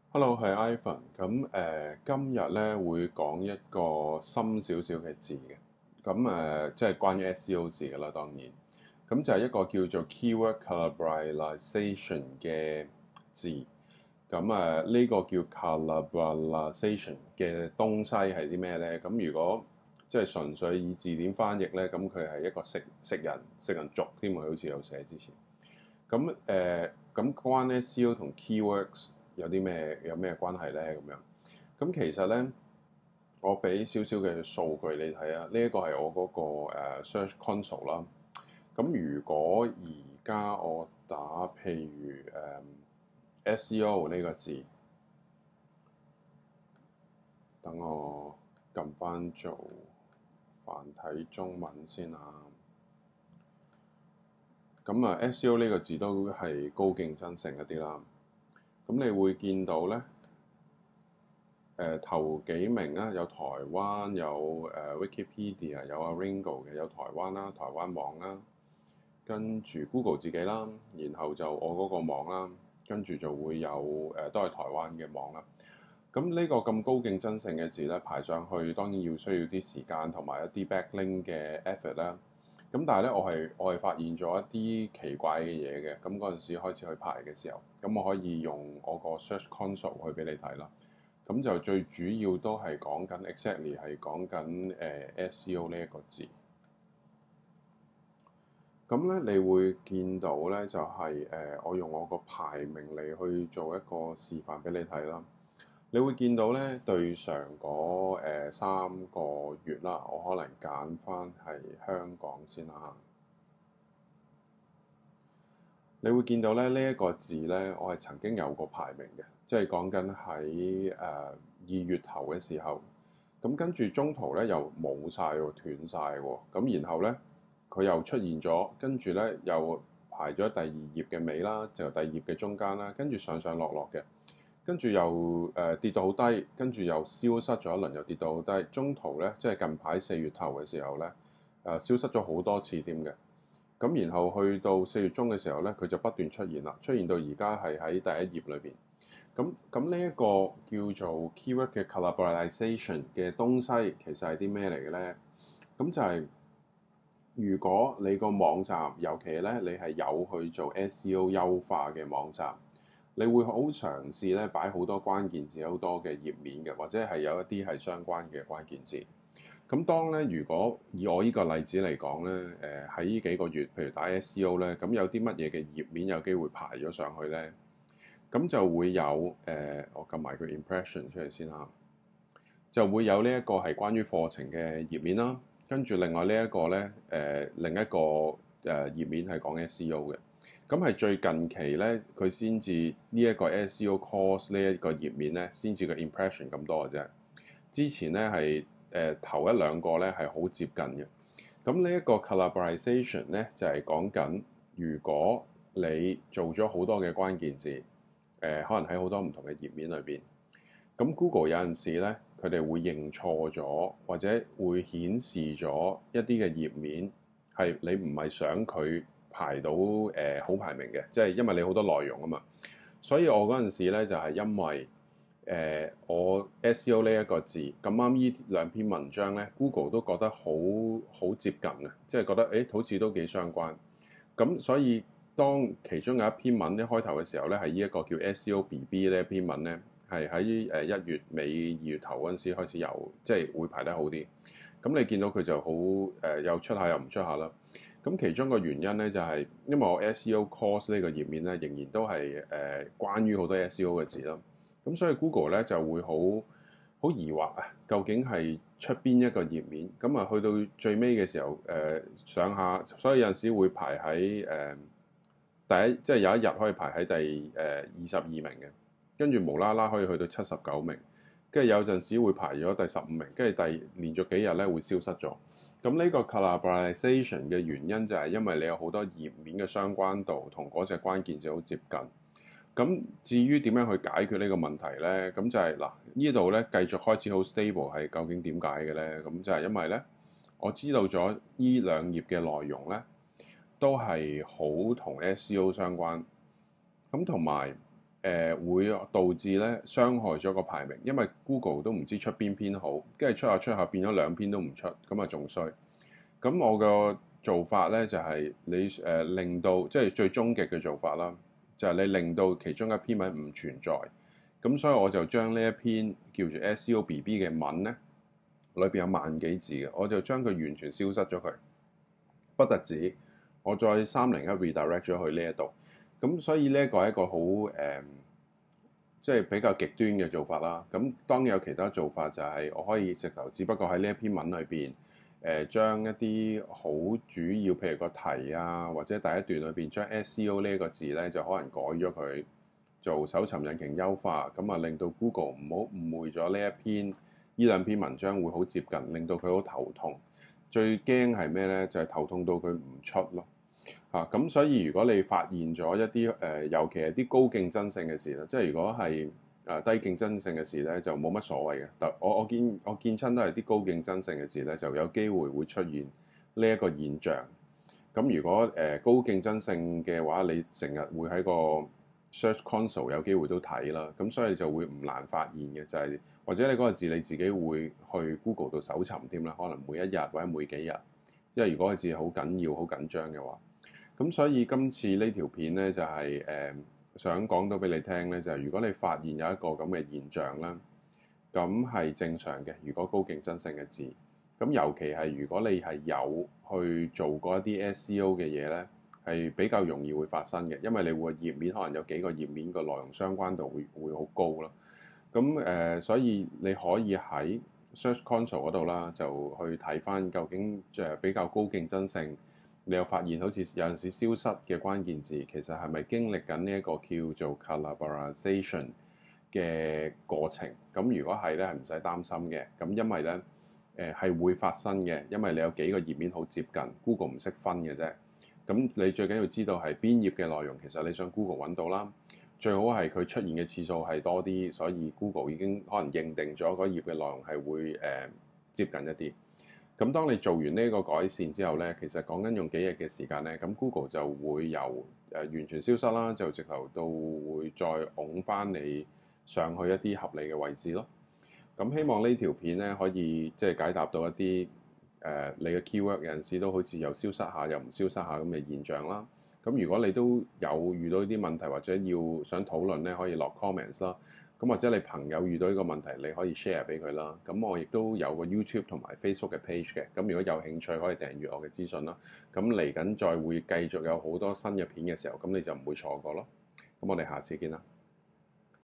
Hello，係 Ivan。今日咧會講一個深少少嘅字嘅。即係關於 SEO 字嘅啦，當然。咁就係一個叫做 keyword collateralization 嘅字。呢個叫 collateralization 嘅東西係啲咩咧？咁如果即係純粹以字典翻譯咧，咁佢係一個食人族添，佢好似有寫之前。咁關 SEO 同 keywords 有咩關係咧？咁樣其實咧，我俾少少嘅數據你睇啊。呢一個係我嗰個search console 啦。咁如果而家我打譬如SEO 呢個字，等我撳翻做繁體中文先啊。SEO 呢個字都係高競爭性一啲啦。咁你會見到咧，頭幾名啊，有台灣，有Wikipedia，有 Ringo 嘅，有台灣啦，台灣網啦，跟住 Google 自己啦，然後就我嗰個網啦，跟住就會有都係台灣嘅網啦。咁呢個咁高競爭性嘅字咧，排上去當然需要啲時間同埋一啲 backlink 嘅 effort 啦。咁但係咧，我係發現咗一啲奇怪嘅嘢嘅。咁嗰陣時開始去排嘅時候，咁我可以用我個 search console 去俾你睇啦。咁就最主要都係講緊 exactly 係講緊SEO 呢一個字。咁咧，你會見到咧就係我用我個排名嚟去做一個示範俾你睇啦。你會見到咧，對上嗰3個月啦，我可能揀翻係香港先啦。你會見到咧，呢一個字咧，我係曾經有個排名嘅，即係講緊喺2月頭嘅時候。咁跟住中途咧又冇晒喎，斷晒喎。咁然後咧佢又出現咗，跟住咧又排咗第2頁嘅尾啦，就第2頁嘅中間啦，跟住上上落落嘅，跟住又跌到好低，跟住又消失咗一輪，又跌到好低。中途咧即係近排4月頭嘅時候咧，消失咗好多次添嘅。咁然後去到4月中嘅時候咧，佢就不斷出現啦，出現到而家係喺第1頁裏邊。咁呢一個叫做 keyword 嘅 collateralization 嘅東西，其實係啲咩嚟嘅咧？咁就係如果你個網站，尤其咧你係有去做 SEO 優化嘅網站，你會好嘗試咧擺好多關鍵字，好多嘅頁面嘅，或者係有一啲係相關嘅關鍵字。咁當咧，如果以我呢個例子嚟講咧，喺呢幾個月，譬如打 SEO 咧，咁有啲乜嘢嘅頁面有機會排咗上去咧？咁就會有我撳埋個 impression 出嚟先啦，就會有呢一個係關於課程嘅頁面啦。跟住另外呢一個咧，另一個頁面係講 SEO 嘅。咁係最近期咧，佢先至呢一個 SEO course 呢一個頁面咧，先至個 impression 咁多嘅啫。之前咧係頭一兩個咧係好接近嘅。咁呢一個 collateralization 咧就係講緊，如果你做咗好多嘅關鍵字，可能喺好多唔同嘅頁面裏邊，咁 Google 有陣時咧，佢哋會認錯咗，或者會顯示咗一啲嘅頁面係你唔係想佢排到好排名嘅，即係因為你好多內容啊嘛。所以我嗰陣時咧就係因為我 SEO 呢一個字咁啱，呢兩篇文章咧 Google 都覺得好接近啊，即係覺得好似都幾相關。咁所以當其中有一篇文一開頭嘅時候咧，係呢一個叫 SEO BB 呢一篇文咧，係喺1月尾2月頭嗰陣時開始有，即係會排得好啲。咁你見到佢就好又出下又唔出下啦。咁其中個原因咧就係因為我 SEO course 呢個頁面咧仍然都係關於好多 SEO 嘅字啦。咁所以 Google 咧就會好疑惑啊，究竟係出邊一個頁面？咁啊去到最尾嘅時候，上下，所以有陣時會排喺第一，即係有一日可以排喺第22名嘅，跟住無啦啦可以去到79名，跟住有陣時會排咗第15名，跟住連續幾日咧會消失咗。咁呢個 collateralization 嘅原因就係因為你有好多頁面嘅相關度同嗰隻關鍵字好接近。咁至於點樣去解決呢個問題咧？咁就係嗱，呢度咧繼續開始好 stable 係究竟點解嘅咧？咁就係因為咧，我知道咗呢兩頁嘅內容咧，都係好同 SEO 相關。咁同埋會導致咧傷害咗個排名，因為 Google 都唔知出邊篇好，跟住出下變咗兩篇都唔出，咁啊仲衰。咁我個做法咧就係你令到即係最終極嘅做法啦，就係你令到其中一篇文唔存在。咁所以我就將呢一篇叫做 SEO BB 嘅文咧，裏邊有萬幾字嘅，我就將佢完全消失咗佢。不特止，我再301 redirect 咗去呢一度。咁所以呢一個係一個好即係比較極端嘅做法啦。咁當然有其他做法，就係我可以直頭，只不過喺呢一篇文裏邊，將一啲好主要，譬如個題啊，或者第一段裏邊將 SEO 呢一個字咧，就可能改咗佢做搜尋引擎優化，咁啊令到 Google 唔好誤會咗呢兩篇文章會好接近，令到佢好頭痛。最驚係咩咧？就係頭痛到佢唔出咯。咁所以如果你發現咗一啲尤其係啲高競爭性嘅字咧，即係如果係低競爭性嘅字咧，就冇乜所謂嘅。但我見親都係啲高競爭性嘅字咧，就有機會會出現呢一個現象。咁如果高競爭性嘅話，你成日會喺個 Search Console 有機會都睇啦，咁所以就會唔難發現嘅，就係或者你嗰個字你自己會去 Google 度搜尋添啦，可能每一日或者每幾日，因為如果個字好緊要、好緊張嘅話。咁所以今次呢條片咧就係想講到俾你聽咧，就係如果你發現有一個咁嘅現象啦，咁係正常嘅。如果高競爭性嘅字，咁尤其係如果你係有去做過一啲 SEO 嘅嘢咧，係比較容易會發生嘅，因為你會頁面可能有幾個頁面個內容相關度會好高咯。咁所以你可以喺 Search Console 嗰度啦，就去睇翻究竟比較高競爭性。你又發現好似有陣時消失嘅關鍵字，其實係咪經歷緊呢一個叫做 collaboration 嘅過程？咁如果係咧，係唔使擔心嘅。咁因為咧，係會發生嘅，因為你有幾個頁面好接近，Google 唔識分嘅啫。咁你最緊要知道係邊頁嘅內容，其實你想 Google 揾到啦。最好係佢出現嘅次數係多啲，所以 Google 已經可能認定咗嗰頁嘅內容係會接近一啲。咁當你做完呢個改善之後咧，其實講緊用幾日嘅時間咧，咁 Google 就會由完全消失啦，就直頭到會再拱翻你上去一啲合理嘅位置咯。咁希望呢條片咧可以即係解答到一啲你嘅 keyword 有陣時都好似又消失下又唔消失下咁嘅現象啦。咁如果你都有遇到呢啲問題或者要想討論咧，可以落 comments 啦。咁或者你朋友遇到呢個問題，你可以 share 俾佢啦。咁我亦都有個 YouTube 同埋 Facebook 嘅 page 嘅。咁如果有興趣，可以訂閱我嘅資訊啦。咁嚟緊再會繼續有好多新嘅片嘅時候，咁你就唔會錯過咯。咁我哋下次見啦。